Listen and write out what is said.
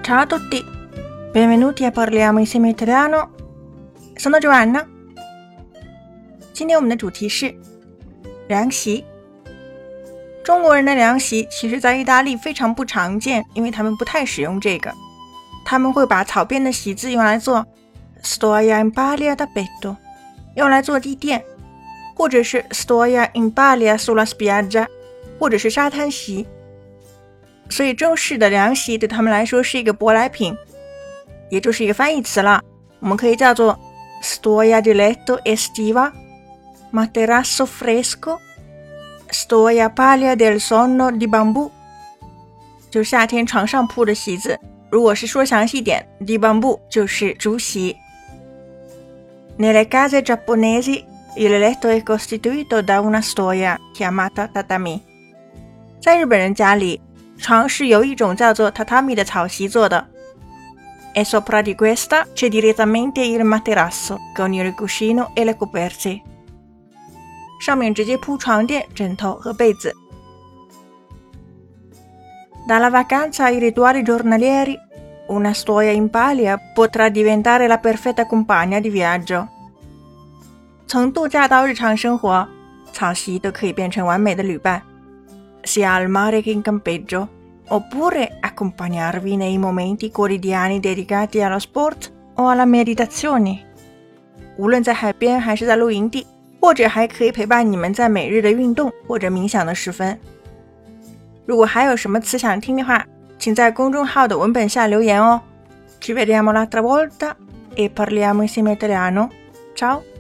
Ciao a tutti, benvenuti a Parliamo insieme Italiano. Sono Giovanna. 今天我们的主题是凉席。中国人的凉席其实在意大利非常不常见，因为他们不太使用这个。他们会把草编的席子用来做 stoia in paglia da petto， 用来做地垫，或者是 stoia in paglia sulla spiaggia， 或者是沙滩席。所以中式的凉席对他们来说是一个舶来品，也就是一个翻译词了。我们可以叫做 stoia di letto estiva, materasso fresco, stoia paglia del sonno di bambù， 就是夏天床上铺的席子。如果是说详细点 di bambù 就是竹席。Nelle case giapponesi il letto è costituito da una stoia chiamata tatami。 在日本人家里，床是由一种叫做 tatami 的草席做的。E sopra di questa c'è direttamente il materasso con il cuscino e le coperte。 上面直接铺床垫、枕头和被子。Dalla vacanza ai rituali giornalieri, una stoia in paglia potrà diventare la perfetta compagna di viaggio。 从度假到日常生活，草席都可以变成完美的旅伴。sia al mare che in campeggio, oppure accompagnarvi nei momenti quotidiani dedicati allo sport o alla meditazione。 无论在海边还是在露营地，或者还可以陪伴你们在每日的运动或者冥想的时分。如果还有什么词想听的话，请在公众号的文本下留言哦。Ci vediamo l'altra volta e parliamo insieme italiano. Ciao!